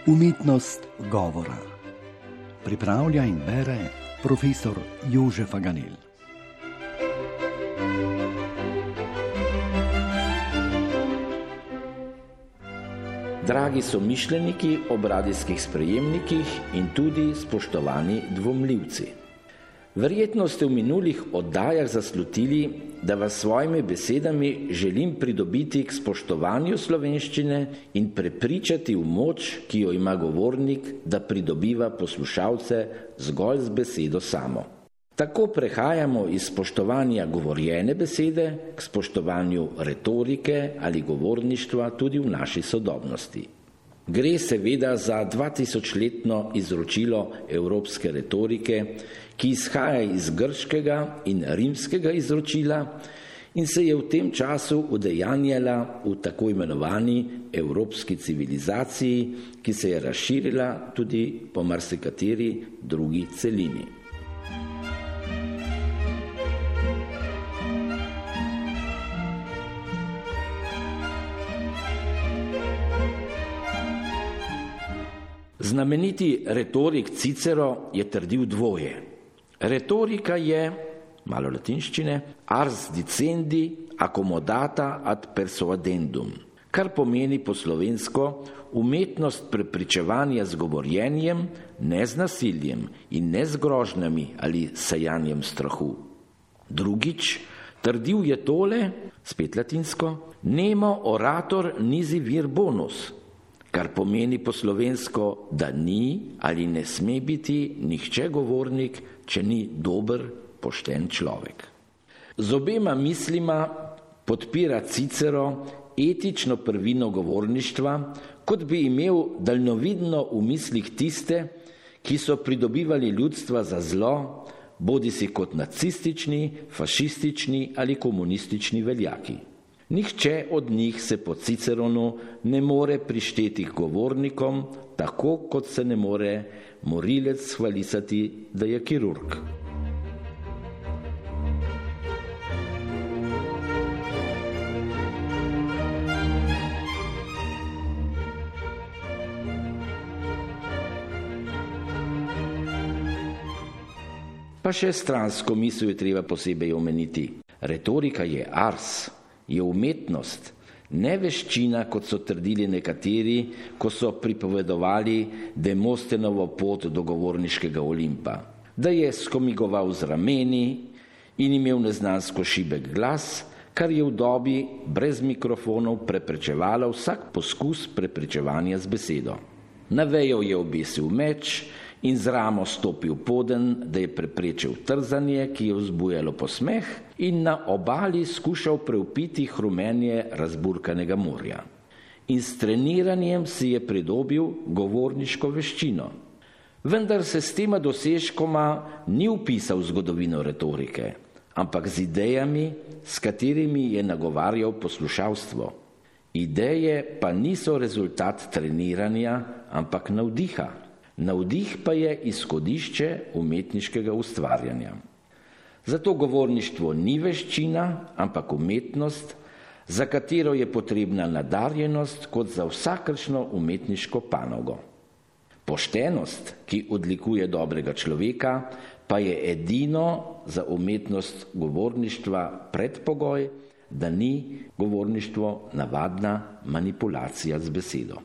Umetnost govora. Pripravlja in bere profesor Jožef Faganel. Dragi somišljeniki ob radijskih sprejemnikih in tudi spoštovani dvomljivci. Verjetno ste v minulih oddajah zaslutili, da vas s svojimi besedami želim pridobiti k spoštovanju slovenščine in prepričati v moč, ki jo ima govornik, da pridobiva poslušalce zgolj z besedo samo. Tako prehajamo iz spoštovanja govorjene besede k spoštovanju retorike ali govorništva tudi v naši sodobnosti. Gre seveda za 2000-letno izročilo evropske retorike, ki izhaja iz grškega in rimskega izročila in se je v tem času udejanjala v tako imenovani evropski civilizaciji, ki se je razširila tudi po marsikateri drugi celini. Znameniti retorik Cicero je trdil dvoje. Retorika je, malo latinščine, ars dicendi accomodata ad persuadendum, kar pomeni po slovensko umetnost prepričevanja z govorjenjem, ne z nasiljem in ne z grožnjami ali sejanjem strahu. Drugič, trdil je tole, spet latinsko, nemo orator nisi vir bonus, kar pomeni po slovensko, da ni ali ne sme biti nihče govornik, če ni dober, pošten človek. Z obema mislima podpira Cicero etično prvino govorništva, kot bi imel daljnovidno v mislih tiste, ki so pridobivali ljudstva za zlo, bodisi kot nacistični, fašistični ali komunistični veljaki. Nihče od njih se po Ciceronu ne more prišteti k govornikom, tako kot se ne more morilec hvalisati, da je kirurg. Pa še stransko misel je treba posebej omeniti. Retorika je ars, je umetnost, ne veščina, kot so trdili nekateri, ko so pripovedovali Demostenovo pot do govorniškega Olimpa. Da je skomigoval z rameni in imel neznansko šibek glas, kar je v dobi brez mikrofonov preprečevalo vsak poskus preprečevanja z besedo. Na vejo je obesil meč in z ramo stopil poden, da je preprečil trzanje, ki je vzbujalo posmeh, in na obali skušal preupiti hrumenje razburkanega morja. In s treniranjem si je pridobil govorniško veščino. Vendar se s tema dosežkoma ni vpisal v zgodovino retorike, ampak z idejami, s katerimi je nagovarjal poslušalstvo. Ideje pa niso rezultat treniranja, ampak navdiha. Navdih pa je izhodišče umetniškega ustvarjanja. Zato govorništvo ni veščina, ampak umetnost, za katero je potrebna nadarjenost kot za vsakršno umetniško panogo. Poštenost, ki odlikuje dobrega človeka, pa je edino za umetnost govorništva predpogoj, da ni govorništvo navadna manipulacija z besedo.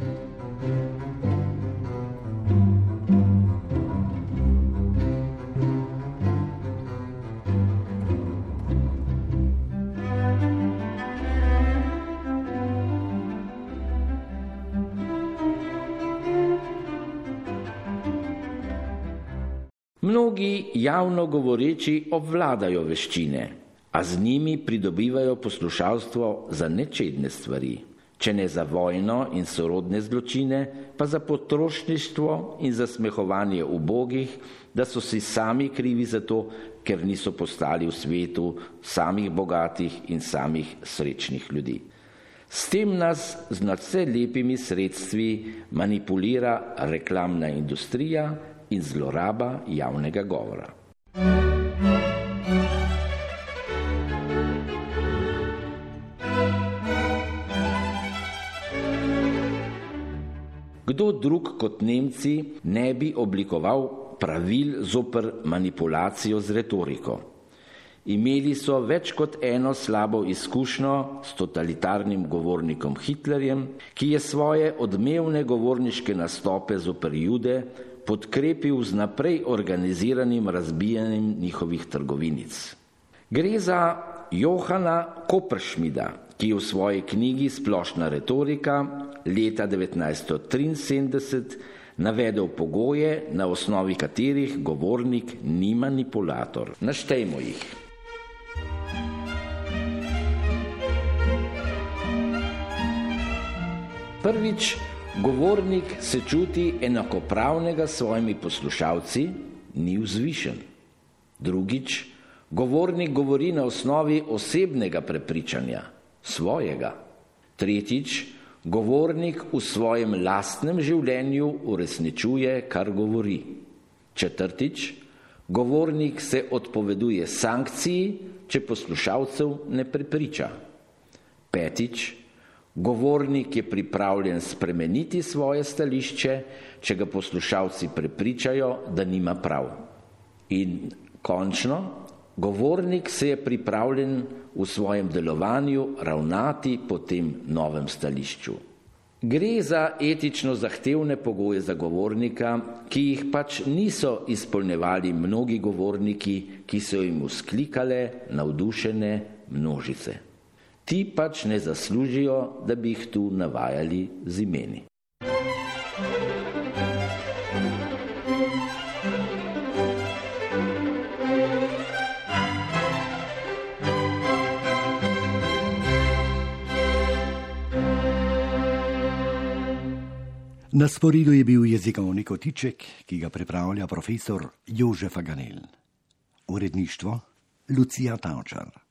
Mnogi javno govoreči obvladajo veščine, a z njimi pridobivajo poslušalstvo za nečedne stvari, če ne za vojno in sorodne zločine, pa za potrošništvo in za smehovanje ubogih, da so si sami krivi za to, ker niso postali v svetu samih bogatih in samih srečnih ljudi. S tem nas z nadvse lepimi sredstvi manipulira reklamna industrija in zloraba javnega govora. Kdo drug kot Nemci ne bi oblikoval pravil zoper manipulacijo z retoriko? Imeli so več kot eno slabo izkušnjo s totalitarnim govornikom Hitlerjem, ki je svoje odmevne govorniške nastope zoper Jude podkrepil z naprej organiziranim razbijanjem njihovih trgovinic. Gre za Johana Kopperschmida, ki je v svoji knjigi Splošna retorika leta 1973 navedel pogoje, na osnovi katerih govornik ni manipulator. Naštejmo jih. Prvič, govornik se čuti enakopravnega s svojimi poslušalci, ni vzvišen. Drugič, govornik govori na osnovi osebnega prepričanja, svojega. Tretjič, govornik v svojem lastnem življenju uresničuje, kar govori. Četrtič, govornik se odpoveduje sankciji, če poslušalcev ne prepriča. Petič, govornik je pripravljen spremeniti svoje stališče, če ga poslušalci prepričajo, da nima prav. In končno, govornik se je pripravljen v svojem delovanju ravnati po tem novem stališču. Gre za etično zahtevne pogoje za govornika, ki jih pač niso izpolnjevali mnogi govorniki, ki so jim vzklikale navdušene množice. Ti pač ne zaslužijo, da bi jih tu navajali z imeni. Na sporedu je bil jezikovni kotiček, ki ga pripravlja profesor Jože Faganel. Uredništvo Lucija Tavčar.